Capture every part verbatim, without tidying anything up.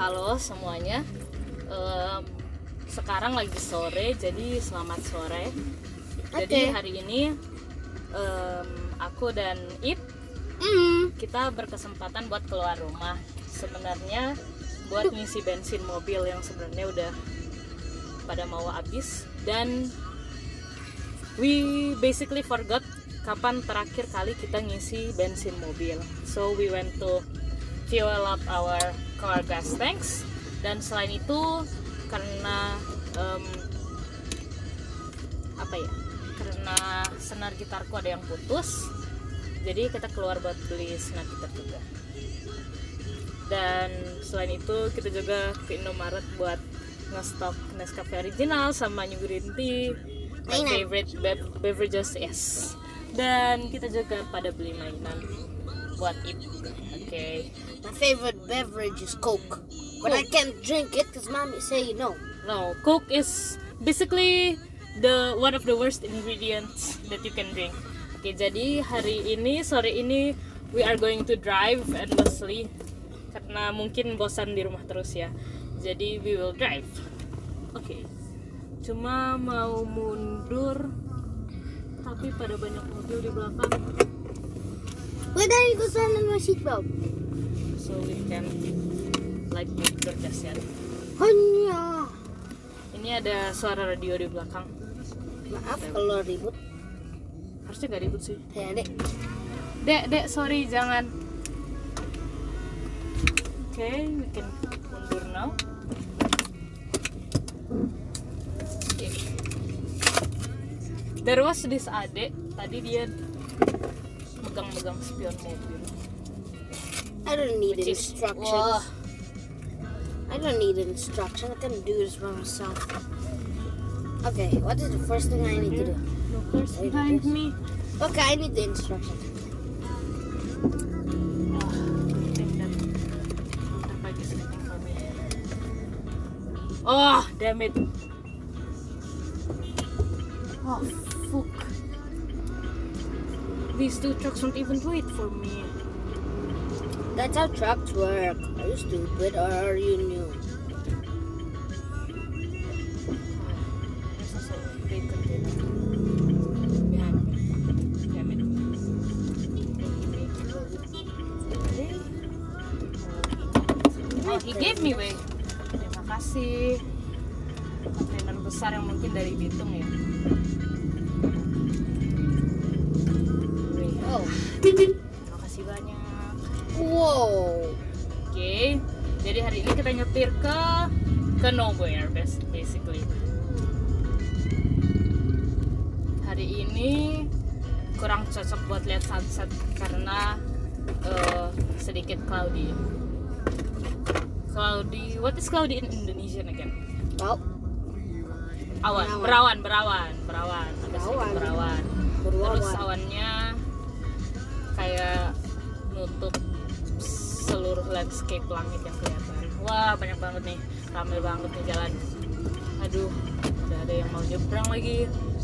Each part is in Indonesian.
Halo semuanya. Um, sekarang lagi sore, jadi selamat sore. Jadi Okay. hari ini um, aku dan Ip Mm. kita berkesempatan buat keluar rumah. Sebenarnya buat ngisi bensin mobil yang sebenarnya udah pada mau habis, dan we basically forgot kapan terakhir kali kita ngisi bensin mobil. So we went to fuel up our car gas tanks, dan selain itu karena um, apa ya karena senar gitarku ada yang putus, jadi kita keluar buat beli senar gitar juga. Dan selain itu kita juga ke Indomaret buat ngestok Nescafe original sama New Green Tea, my Mainan. favorite be- beverages, yes. Dan kita juga pada beli mainan buat Ip. Oke. Okay. My favorite beverage is Coke, but I can't drink it because mommy say no. No, Coke is basically the one of the worst ingredients that you can drink. Oke, jadi hari ini, sore ini we are going to drive endlessly karena mungkin bosan di rumah terus ya. Jadi we will drive. Oke. Cuma mau mundur tapi pada banyak mobil di belakang, Wait, I need to turn on my seatbelt. so we can like make the dasar. Hanya. Ini ada suara radio di belakang. Maaf kalau ribut. Harusnya gak ribut sih. Ya dek. Dek, dek, sorry, jangan. Oke, okay, we can mundur now. Okay. There was this adek, tadi dia megang-megang spion mobil. I don't need Which is- instructions. Wah, I don't need instruction. I can do this by myself. Okay, what is the first thing I need to do? no cars behind me. Okay, I need the instruction. Ah, I think that motorbike is waiting for me. Oh, damn it. Oh, fuck. These two trucks won't even wait for me. That's how trucks work. Are you stupid or are you new? There's also a big container behind me. Damn it. Oh, he gave me way. Terima kasih. Kontainer besar yang mungkin dari Bitung ya. Wih, Oh. terima kasih banyak. Whoa. Oke, jadi hari ini kita nyetir ke ke nowhere bas- basically. Hari ini kurang cocok buat lihat sunset karena eh, sedikit cloudy. Cloudy, what is cloudy in Indonesian again? Wow. Awan, Berawan. berawan, berawan, berawan. Ada sedikit Berawan. berawan. Terus Berawan. awannya kayak nutup seluruh landscape langit yang kelihatan. Wah, banyak banget nih, ramai banget nih jalan. Aduh, udah ada yang mau nyebrang lagi.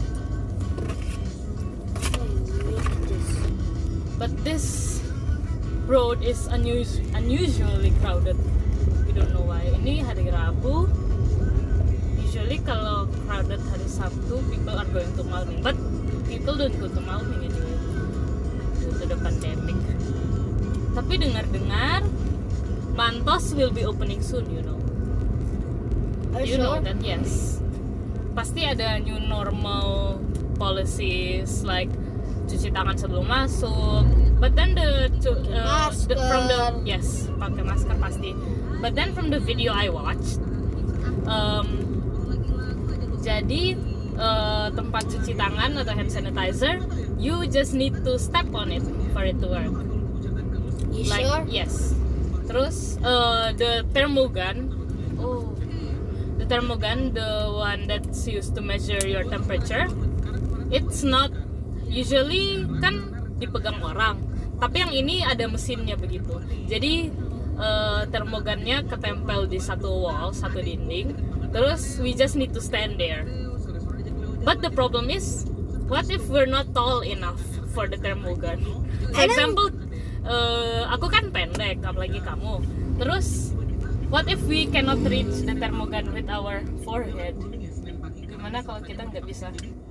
But this road is unus- unusually crowded. We don't know why. Ini hari Rabu. Usually kalau crowded hari Sabtu, people are going to Malming. But people don't go to Malming anyway due to the pandemic. Tapi dengar-dengar Mantos will be opening soon, you know. Are You you know sure? that, yes. Pasti ada new normal policies like cuci tangan sebelum masuk. But then the, to, uh, the from the Masker. yes, pakai masker pasti. But then from the video I watched, um, jadi uh, tempat cuci tangan atau hand sanitizer, you just need to step on it for it to work. You Like sure? yes. Terus uh, the thermogun, oh, the thermogun, the one that's used to measure your temperature, it's not usually kan dipegang orang, tapi yang ini ada mesinnya begitu. Jadi uh, thermogunnya ketempel di satu wall, satu dinding. Terus we just need to stand there. But the problem is, what if we're not tall enough for the thermogun? For And then- example, uh, aku kan pendek, apalagi kamu. Terus What if we cannot reach the thermogun with our forehead? Gimana kalau kita nggak bisa?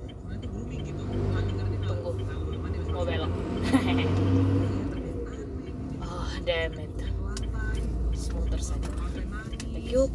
Tunggu, mau belok. Oh, damn it. Smoother saja. Thank you.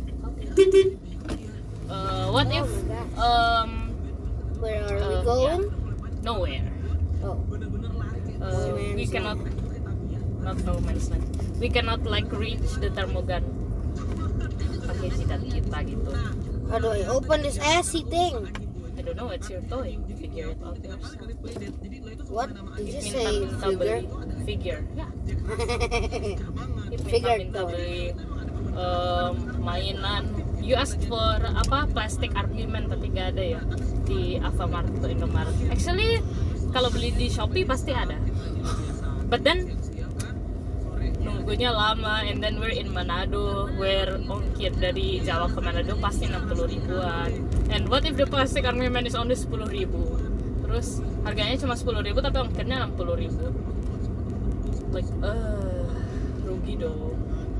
Uh, what if um Where are we uh, going? yeah, nowhere? Oh, Uh, No we man's cannot, land. not no man's land. We cannot like reach the thermogun pakai jidat kita gitu. how do I open this assy thing? I don't know, it's your toy. Figure it out yourself. What did you Minta say? minta Figure? beli figure. Ya. Minta Figure minta toy. beli um, mainan. You asked for apa plastic argument tapi gak ada ya di Alfamart atau Indomaret. Actually kalau beli di Shopee pasti ada. But then nunggunya lama, and then we're in Manado, where ongkir dari Jawa ke Manado pasti enam puluh ribuan. And what if the plastic argument is only sepuluh ribu? Terus harganya cuma sepuluh ribu tapi ongkirnya enam puluh ribu. Like, uh, rugi dong.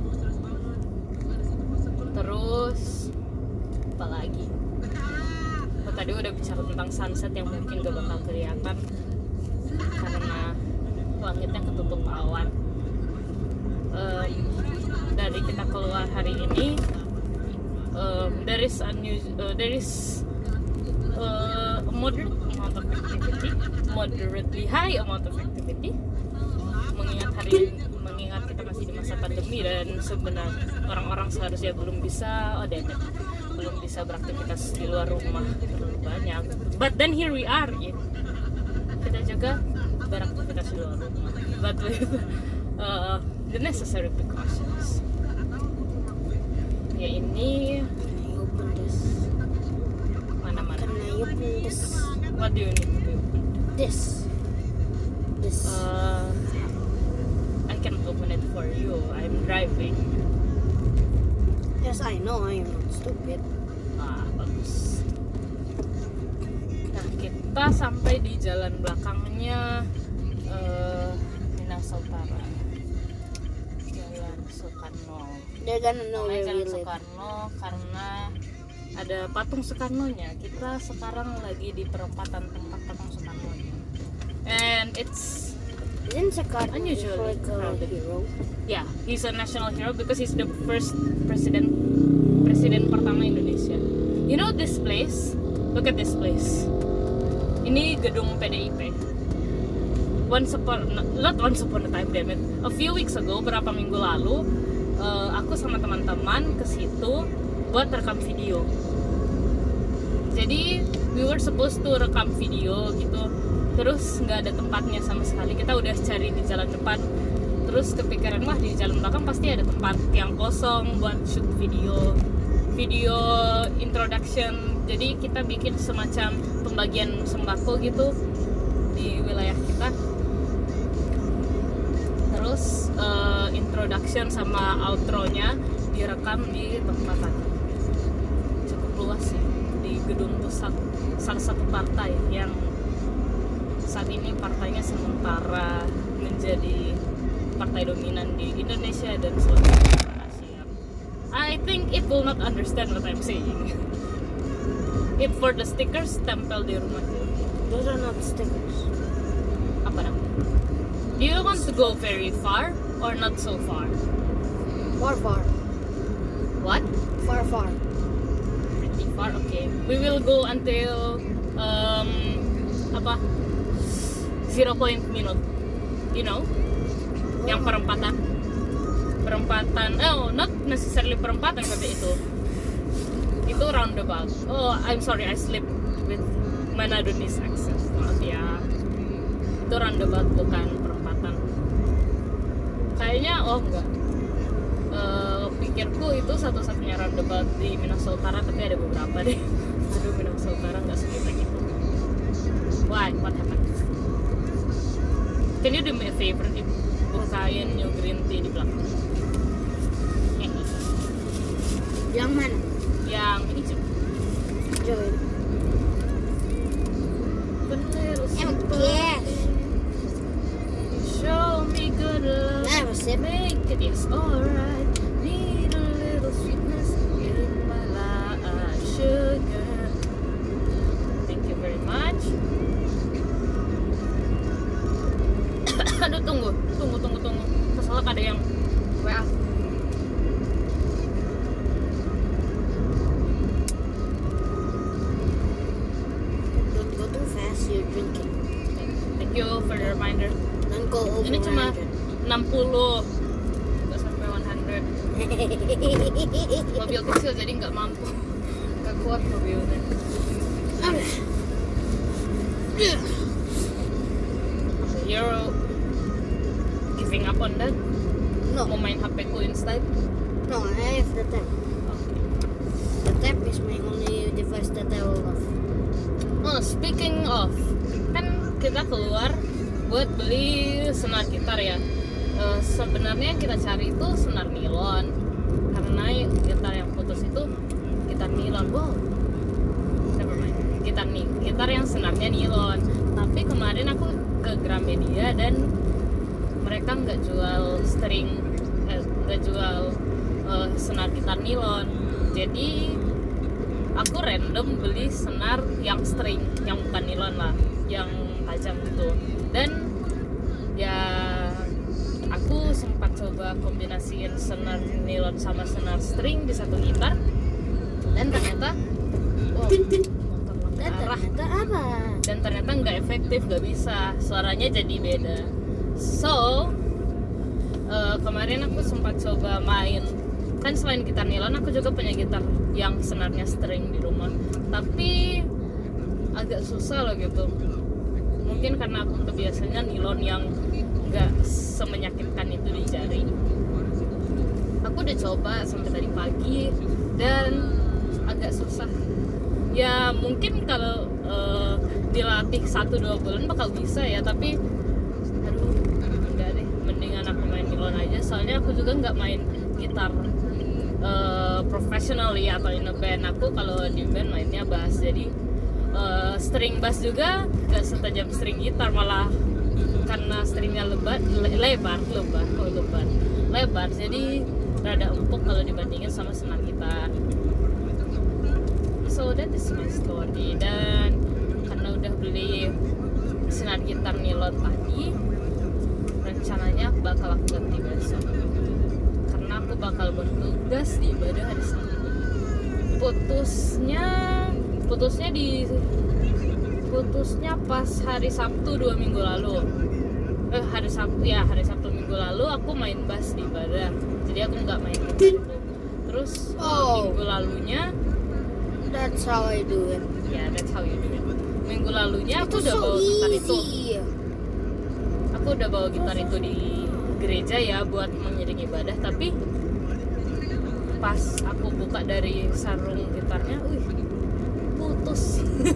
Terus apa lagi? Oh, tadi udah bicara tentang sunset yang mungkin gak bakal kelihatan karena langitnya ketutup awan. Um, dari kita keluar hari ini, um, there is unus- uh, there is uh, a moderate amount of activity, moderately high amount of activity. Mengingat hari mengingat kita masih di masa pandemi dan sebenarnya orang-orang seharusnya belum bisa, oh damn it, belum bisa beraktivitas di luar rumah terlalu banyak. But then here we are, ya. Kita juga beraktivitas di luar rumah, but with uh, the necessary precautions. Ya ini Can I open this? mana-mana. Can I open this? What do you need to do? This. This. Uh, I can open it for you. I'm driving. yes, I know. I am not stupid. Ah, bagus. Nah, kita sampai di jalan belakangnya uh, Minahasa Jalan Soekarno. They're gonna know Namanya where we Jalan live. Soekarno karena ada patung Soekarno-nya. Kita sekarang lagi di perempatan tempat patung Soekarno-nya. And it's Isn't Sakarno unusually like a crowded. hero? Yeah, he's a national hero because he's the first president presiden pertama Indonesia. You know this place? Look at this place. Ini gedung P D I P. Once upon, not once upon a time, damn it. A few weeks ago, berapa minggu lalu, uh, aku sama teman-teman ke situ buat rekam video. Jadi we were supposed to rekam video gitu. Terus nggak ada tempatnya sama sekali. Kita udah cari di jalan depan. Terus kepikiran, wah di jalan belakang pasti ada tempat yang kosong buat shoot video, video introduction. Jadi kita bikin semacam pembagian sembako gitu di wilayah kita. Terus uh, introduction sama outro-nya direkam di tempat tadi. Cukup luas sih, di gedung pusat salah satu partai yang saat ini partainya sementara menjadi partai dominan di Indonesia dan seluruh Asia. I think it will not understand what I'm saying. If for the stickers, tempel di rumah. Those are not stickers. Apa dong? Do you want to go very far or not so far? Far, far. What? Far, far. Pretty far, okay. We will go until um apa? Zero point minute. You know? Yang perempatan. Perempatan. Oh, not necessarily perempatan tapi itu. Itu roundabout. Oh, I'm sorry, I slipped with Manadonese accent. Maaf ya. Itu roundabout bukan perempatan. Kayaknya oh enggak. Uh, pikirku itu satu-satunya roundabout di Minahasa Utara, tapi ada beberapa deh. Aduh, Minahasa Utara nggak segitu gitu. Why? What happened? Can you do me a favor? Bukain new green tea di belakang. Hehe. Yang mana? Yang hijau. Join. Em guess. Show me good love. Never sip. Make it yes alright. Need a little nembak ada yang W A. Don't go too fast, you're drinking. Thank you for the reminder. Don't go over Ini cuma one hundred. enam puluh, nggak sampai seratus. Mobil kecil jadi nggak mampu, nggak kuat mobilnya. You're giving up on that? No, Mau main H P ku instead? no, I have the tab. Okay. The tab is my only device that I will love. Oh, speaking of, kan kita keluar buat beli senar gitar ya. Uh, sebenarnya yang kita cari itu senar nilon, karena gitar yang putus itu gitar nilon. Wow, never mind. Gitar nih, gitar yang senarnya nilon. Tapi kemarin aku ke Gramedia dan mereka nggak jual string, eh, nggak jual uh, senar gitar nilon. Jadi aku random beli senar yang string, yang bukan nilon lah, yang tajam gitu. Dan ya aku sempat coba kombinasiin senar nilon sama senar string di satu gitar, dan ternyata wow, motor-motor Dan arah. ternyata apa? Dan ternyata nggak efektif, nggak bisa, suaranya jadi beda. So uh, kemarin aku sempat coba main, kan selain gitar nilon aku juga punya gitar yang senarnya string di rumah, tapi agak susah loh gitu. Mungkin karena aku kebiasaannya nilon yang nggak semenyakitkan itu di jari. Aku udah coba sampai tadi pagi dan agak susah. Ya mungkin kalau uh, dilatih satu dua bulan bakal bisa ya, tapi aduh enggak deh, mendingan aku main nilon aja. Soalnya aku juga nggak main gitar uh, professionally atau in a band. Aku kalau di band mainnya bass, jadi uh, string bass juga nggak setajam string gitar, malah karena stringnya lebar, le- lebar, lebar, oh lebar, lebar, jadi rada empuk kalau dibandingin sama senar gitar. So that is my story. Dan karena udah beli senar gitar nilon tadi, rencananya aku bakal aku ganti besok, karena aku bakal bertugas di ibadah hari Sabtu. Putusnya, putusnya di putusnya pas hari Sabtu dua minggu lalu. Eh hari Sabtu ya hari Sabtu minggu lalu aku main bass di ibadah, jadi aku nggak main gitar itu. Terus Oh. minggu lalunya, That's how I do it. ya that's how you do it. Minggu lalunya aku Itu udah so bawa gitar itu. easy. Aku udah bawa gitar itu di gereja ya buat mengiringi ibadah, tapi pas aku buka dari sarung gitarnya, wih, putus.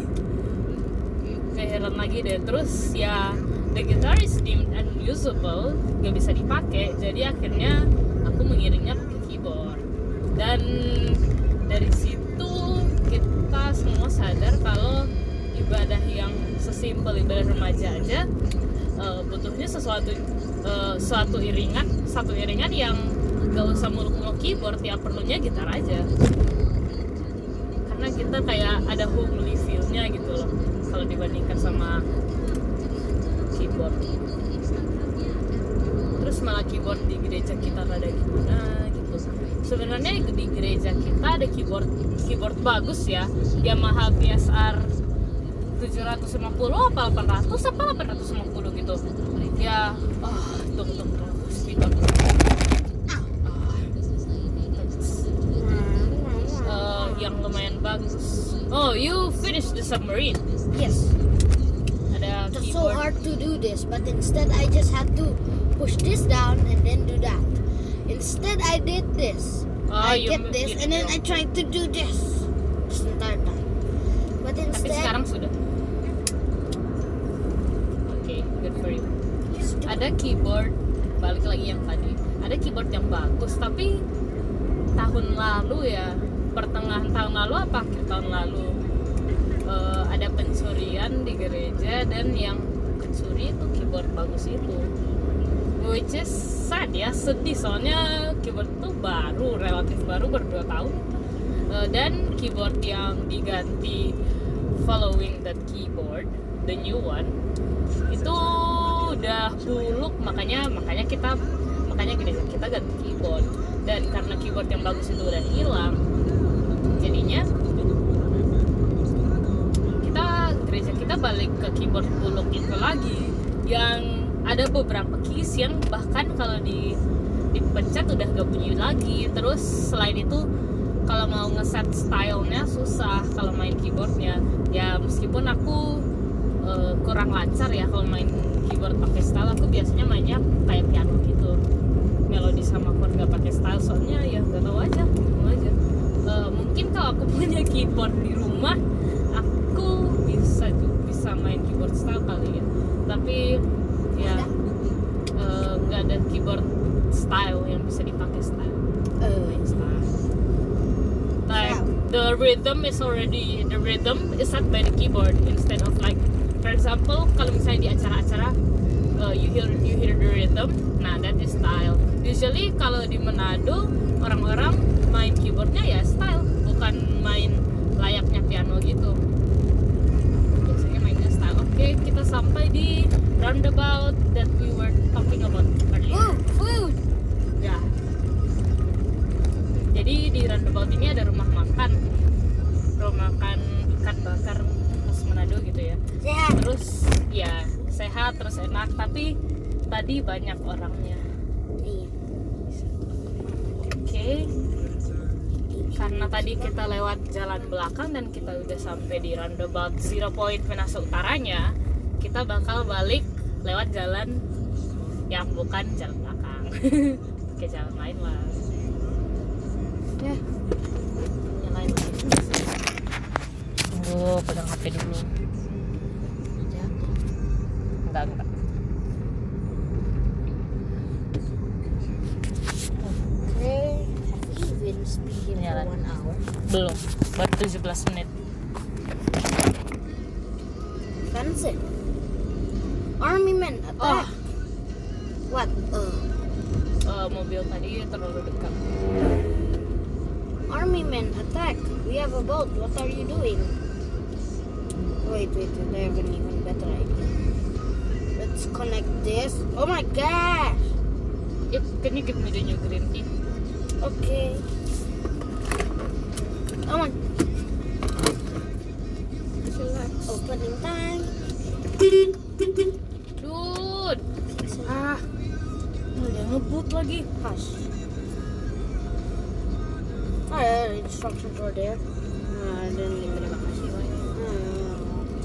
Kayak heran lagi deh. Terus ya the guitar is deemed unusable, gak bisa dipakai, jadi akhirnya aku mengiringnya pakai keyboard. Dan dari situ kita semua sadar kalau ibadah yang sesimpel ibadah remaja aja uh, butuhnya sesuatu uh, suatu iringan satu iringan yang gak usah muluk-muluk keyboard, ya perlunya gitar aja, karena kita kayak ada homely feel-nya gitu loh kalau dibandingkan sama keyboard. Terus malah keyboard di gereja kita rada gimana gitu. Sebenarnya di gereja kita ada keyboard keyboard bagus ya, Yamaha B S R tujuh ratus lima puluh apa delapan ratus apa delapan ratus lima puluh gitu ya. Oh tunggu tunggu tunggu speedbump. Uh, yang lumayan bagus. Oh, you finished the submarine. Yes. Ada It's so keyboard. hard to do this, but instead I just had to push this down and then do that. Instead I did this. Oh, I you get m- this you and then do. I tried to do this this entire time. But Tapi instead, sekarang sudah. Oke, okay, good for you. Ada keyboard, balik lagi yang tadi. Ada keyboard yang bagus, tapi tahun lalu ya, pertengahan tahun lalu apa akhir tahun lalu, uh, ada pencurian di gereja dan yang pencuri itu keyboard bagus itu. Which is sad ya, sedih soalnya keyboard itu baru, relatif baru, berdua tahun. Uh, dan keyboard yang diganti following that keyboard, the new one, itu udah buluk, makanya makanya kita makanya gini, kita ganti keyboard. Dan karena keyboard yang bagus itu udah hilang, jadinya kita gereja kita balik ke keyboard buluk itu lagi, yang ada beberapa keys yang bahkan kalau di dipencet udah gak bunyi lagi. Terus selain itu kalau mau ngeset stylenya susah kalau main keyboardnya. Ya meskipun aku uh, kurang lancar ya kalau main keyboard pakai style, aku biasanya mainnya kayak piano gitu, melodi sama chord gak pakai style, soalnya ya gak tahu aja, mau aja. Uh, mungkin kalau aku punya keyboard di rumah, aku bisa bisa main keyboard style kali ya. Tapi ya uh, gak ada keyboard style yang bisa dipakai style. Uh, main style. Like the rhythm is already the rhythm is set by the keyboard instead of like, for example, kalau misalnya di acara-acara uh, you hear you hear the rhythm, nah that is style. Usually kalau di Manado orang-orang main keyboardnya ya style, bukan main layaknya piano gitu. Biasanya mainnya style. Oke, okay, kita sampai di roundabout that we were talking about earlier. Oh, food. Ya. Jadi di roundabout ini ada rumah makan, rumah makan ikan bakar khas Manado gitu ya. Sehat. Terus ya sehat, terus enak, tapi tadi banyak orangnya. Iya. Oke. Okay. Karena tadi kita lewat jalan belakang dan kita udah sampai di roundabout Zero Point Penasa Utaranya, kita bakal balik lewat jalan yang bukan jalan belakang. Ke jalan lain lah. Ya, nyalain lagi. Tunggu, pegang H P dulu. Ya. Enggak, enggak. Oke, have you been speaking for Nyalain. one hour? Belum, baru tujuh belas menit. Fancy. Army men attack. Oh. What? Uh, Uh, mobil tadi terlalu dekat. army men attack. We have a boat. What are you doing? Wait, wait, wait. I have an even better idea. Let's connect this. Oh my gosh. Yep, can you give me the new green tea? Okay. Oh my. Opening time. Dude, ah, oh, dia ngebut lagi. Hush. Oh, yeah, the instructions were there. Uh, dan terima kasih banyak. Hmm.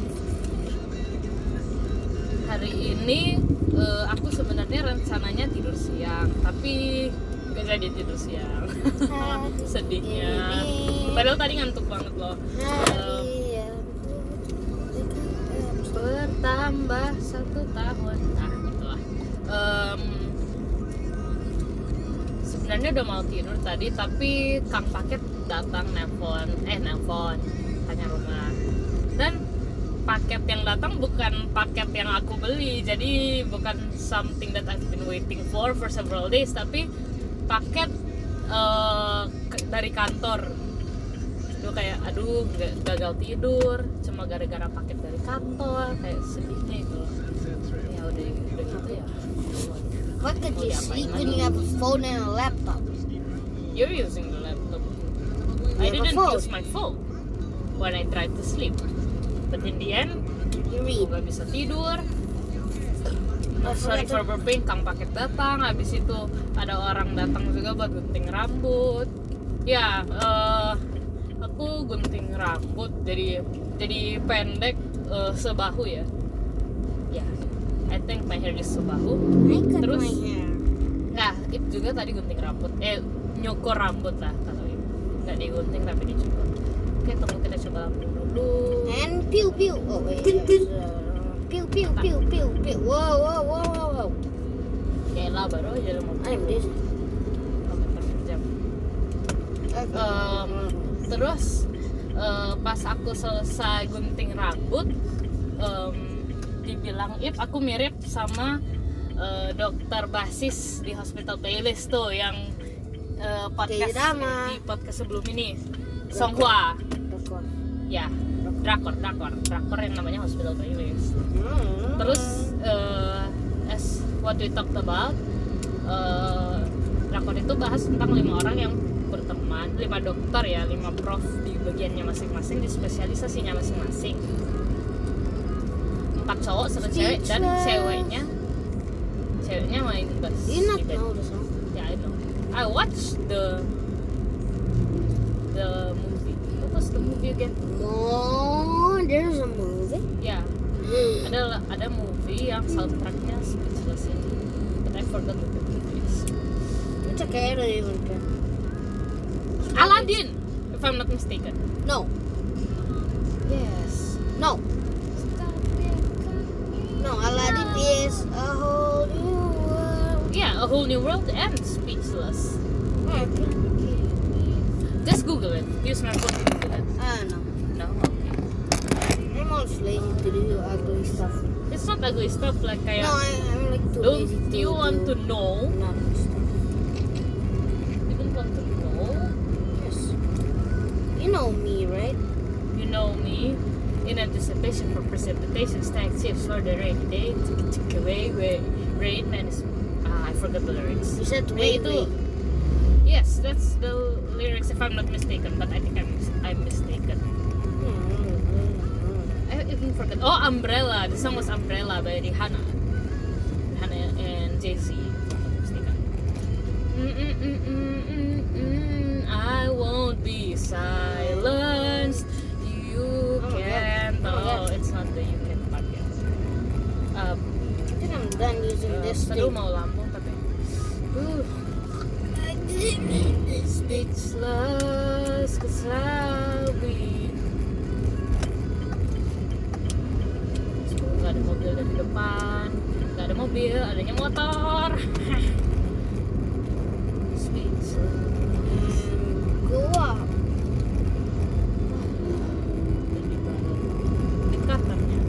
Hari ini uh, aku sebenarnya rencananya tidur siang, tapi nggak jadi tidur siang. Sedihnya. Padahal tadi ngantuk banget loh. Uh, bertambah satu tahun, nah gitulah. Um, sebenarnya udah mau tidur tadi, tapi Kang Paket datang nelpon, eh nelpon, tanya rumah. Dan paket yang datang bukan paket yang aku beli, jadi bukan something that I've been waiting for for several days, tapi paket uh, dari kantor. Itu kayak aduh gagal tidur cuma gara-gara paket dari kantor, kayak sedihnya itu loh. Ya udah udah gitu ya. What could Oh, you yeah, sleep fine. when you have a phone and a laptop? You're using the laptop. You I have a didn't phone. use my phone when I tried to sleep. But in the end, You aku read. gak bisa tidur. Oh, Sorry for forgot to- burping, Kang Paket datang. Habis itu ada orang datang juga buat gunting rambut. Ya, eh, aku gunting rambut jadi jadi pendek eh, sebahu ya. Ya, I think my hair is sebahu. I cut Terus- my hair. Nah, itu juga tadi gunting rambut. Eh, nyukur rambut lah kalau itu. Nggak digunting tapi dicukur. Oke, tunggu kita coba langsung dulu. And pew pew. Oh wait. Yes, uh, pew pew pew pew pew. Whoa whoa whoa whoa whoa. Kayla baru aja mau I'm dizzy. komentar jam. Okay. Um, terus eh, pas aku selesai gunting rambut, em, dibilang Ip aku mirip sama eh, dokter basis di Hospital Playlist tuh yang eh, podcast K-drama. di podcast sebelum ini, Song Hwa. Record. Ya, drakor, drakor, drakor yang namanya Hospital Playlist. Hmm. Terus uh, as what we talked about, uh, drakor itu bahas tentang lima orang yang berteman, lima dokter ya, lima prof di bagiannya masing-masing, di spesialisasinya masing-masing. Empat cowok, satu cewek, dan ceweknya ceweknya main bass. You not di band. know the song? Yeah, I know. I watched the the movie. What was the movie again? No, there's a movie. Yeah, ada ada movie yang soundtracknya Speechless ini, but I forgot what the movie is. It's okay, I don't even care. Aladdin, if I'm not mistaken. No, Yes. no, no. Aladdin is a whole new world. Yeah, A Whole New World and Speechless. Okay. Just Google it. Use my phone to Google it. I don't know. No, okay. I'm always lazy to do ugly stuff. It's not ugly stuff like kayak. No, I, I'm like too lazy Don't to you want to do know? naughty stuff. You don't want to know? Yes. You know me, right? You know me. In anticipation for precipitation, stack chips for the rainy day. Tick tick away, way, rain and is. Ah, I forgot the lyrics. You said Eh, wait, itu. wait. Yes, that's the lyrics if I'm not mistaken, but I think I'm I'm mistaken. I even forgot. Oh, Umbrella. The song was Umbrella by Rihanna. Rihanna and Jay-Z. If I'm not mistaken. Mm-mm-mm-mm-mm-mm. I won't be silenced. You Oh my can't. God. Oh my Oh, God. it's not the you can part yet. Um, I think I'm done using uh, this Aduh, thing. mau lambung tapi. Uh. Speechless, 'cause I'll be. Gak ada mobil dari depan, gak ada mobil, adanya motor. Speechless. Mm, go up. Indikatornya.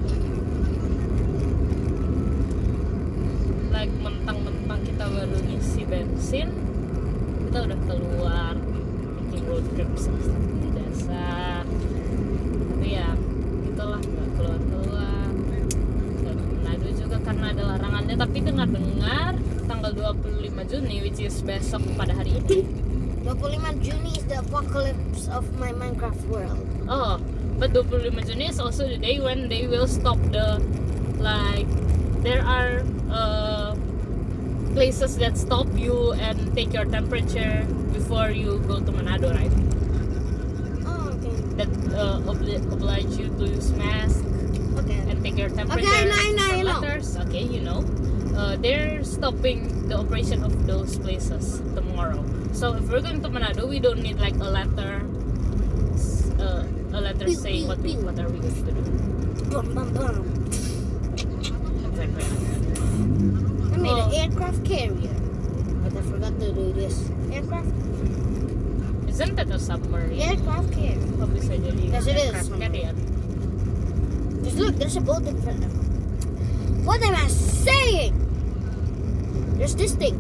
Like mentang-mentang kita baru ngisi bensin, kita udah keluar bikin road trip seperti dasar. Tapi ya gitulah, nggak keluar-keluar. Dan Manado juga karena ada larangannya. Tapi dengar-dengar tanggal dua puluh lima Juni, which is besok pada hari ini. dua puluh lima Juni is the apocalypse of my Minecraft world. Oh, but dua puluh lima Juni is also the day when they will stop the, like, there are uh, places that stop you and take your temperature before you go to Manado, right? Oh, okay. That uh, obli- oblige you to use mask Okay. and take your temperature. Okay, I know, I know, I for know. letters. Okay, you know. Uh, they're stopping the operation of those places tomorrow. So if we're going to Manado, we don't need like a letter, uh, a letter Pew, saying pew, what we pew. what are we going to do. Bum, bum, bum. Exactly. I made Oh. an aircraft carrier, but I forgot to do this. Aircraft, Isn't that a submarine? aircraft carrier. Kok bisa jadi Yes, it is. aircraft carrier? Just look, there's a boat in front of me. What am I saying? There's this thing.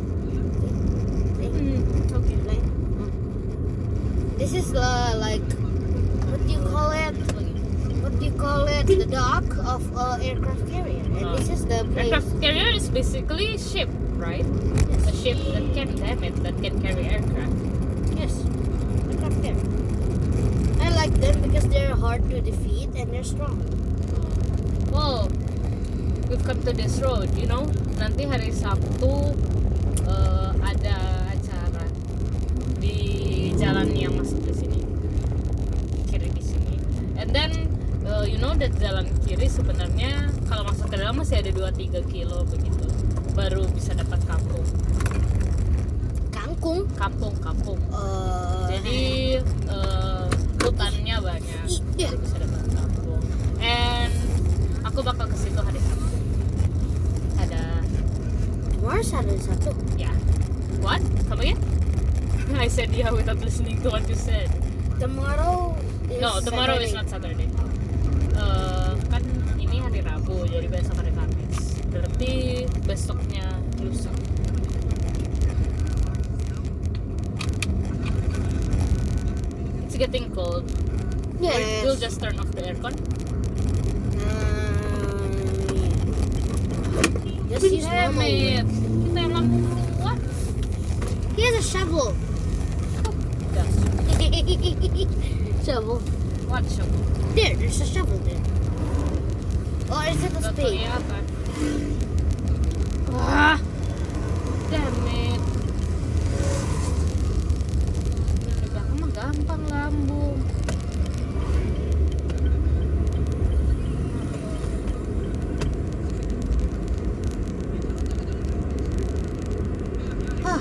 See? See? Hmm, okay. Like, uh, this is uh, like, what do you call it? What do you call it? The dock of uh, aircraft carrier. And Oh. this is the place. Aircraft carrier is basically ship, right? Yes. A ship that can, damn it, that can carry aircraft. Yes. Aircraft carrier. I like them because they're hard to defeat and they're strong. Wow, we've come to this road, you know. Nanti hari Sabtu uh, ada acara di jalan yang masuk ke sini, kiri di sini. And then uh, you know that jalan kiri sebenarnya kalau masuk ke dalam masih ada dua tiga kilo begitu, baru bisa dapat kampung. Kangkung. Kampung, kampung. Uh, Jadi uh, hutannya banyak, Iya. jadi bisa dapat kampung. And aku bakal ke situ hari Sabtu. Ada, Mars ada satu. ya, what? Come again? I said yeah without listening to what you said. Tomorrow is No, tomorrow Saturday. is not Saturday. Uh, kan ini hari Rabu, jadi besok hari Kamis. Berarti besoknya lusa. It's getting cold. Yes. We'll just turn off the aircon. Um, yeah. Just use Damn normal. it. Kita yang lampu what? He has a shovel. Yes. Shovel. What shovel? There, there's a shovel there. Or is it a Gak spade? kelihatan. Wah, damn it. Di belakang mah gampang lambung. Ah,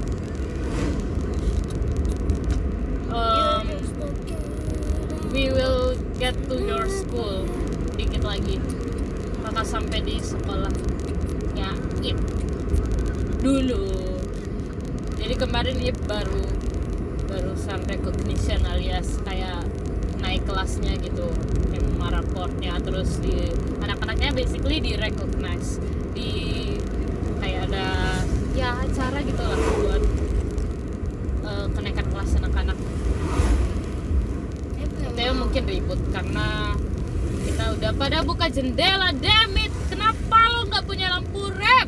Um, we will get to your school dikit lagi. Maka sampai di sekolahnya Ip dulu. Jadi kemarin Ip baru barusan recognition alias kayak naik kelasnya gitu, M M A raportnya, terus di anak-anaknya basically di recognize, di kayak ada ya acara gitu lah buat uh, kenaikan kelas anak-anak. Kita mungkin ribut karena kita udah pada buka jendela. Damn it, kenapa lo nggak punya lampu rem?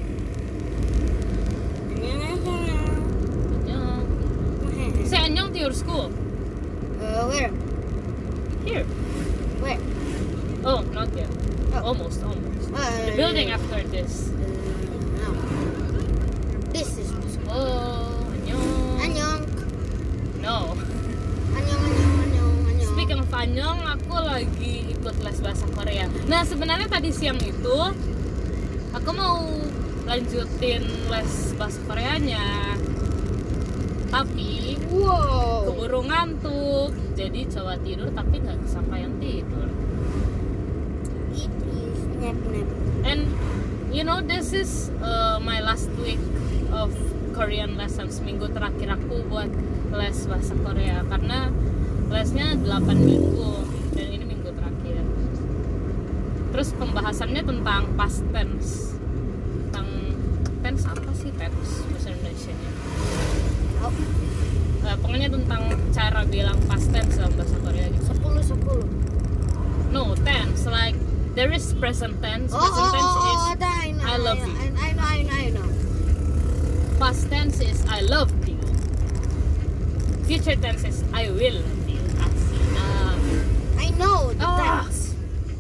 Annyeong. Say annyeong to your school. Uh, where? Here. Where? Oh, not yet. Oh. Almost, almost. Uh, The building after this. Uh, no. This is my school. Oh, annyeong. Annyeong. No. Annyeong, annyeong, annyeong, annyeong. Speaking of annyeong, aku lagi ikut les bahasa Korea. Nah, sebenarnya tadi siang itu aku mau lanjutin les bahasa Koreanya, tapi Wow. keburu ngantuk, jadi coba tidur tapi nggak kesampaian tidur. It is nap nap. And you know, this is uh, my last week of Korean lessons. Minggu terakhir aku buat les bahasa Korea karena lesnya delapan minggu dan ini minggu terakhir. Terus pembahasannya tentang past tense. Tentang tense apa sih tense bahasa Indonesianya? Oh, Uh, pokoknya tentang cara bilang past tense dalam bahasa Korea gitu. sepuluh sepuluh. No, tense like there is present tense. Oh, Present oh, tense oh, is oh, that I know. I love you. I, I know, I know, I know. past tense is I love you. Future tense is I will love you. Asik. Ah. I know the Ah. tense.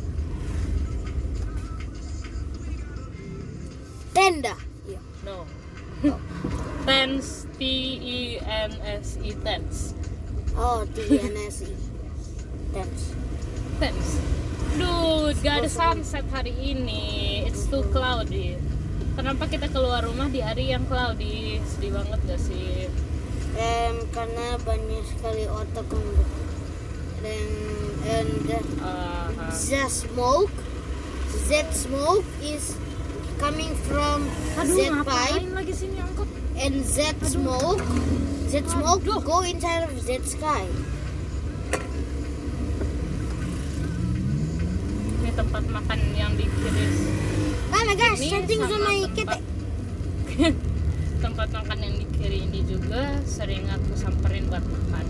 Tenda. Yeah. No. Oh. Tense, T E N S E tense. Oh, T N S E. Tense. Tense. Dude, gak ada sunset hari ini. It's too cloudy. Kenapa kita keluar rumah di hari yang cloudy? Sedih banget gak sih? Um, karena banyak sekali otak untuk dan and Uh, the smoke, that smoke is coming from aduh, that ngapain pipe, lagi sini angkot? and that smoke, that smoke Aduh. go inside of that sky. Ini tempat makan yang di kiri. Oh my gosh, Ini something's on sama my tempat- kete. tempat makan yang di kiri ini juga sering aku samperin buat makan.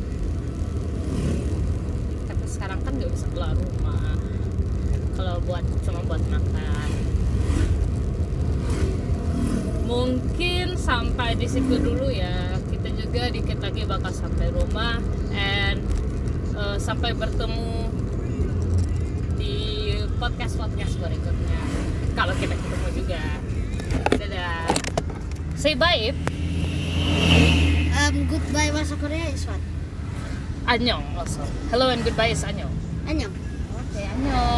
Tapi sekarang kan nggak bisa keluar rumah kalau buat cuma buat makan. Mungkin sampai di situ dulu ya. Kita juga dikit lagi bakal sampai rumah and uh, sampai bertemu di podcast podcast berikutnya. Kalau kita ketemu juga. Dadah. Say bye. Ip. Um, goodbye bahasa Korea is what? Annyeong also. Hello and goodbye is annyeong. Annyeong. Oke, annyeong.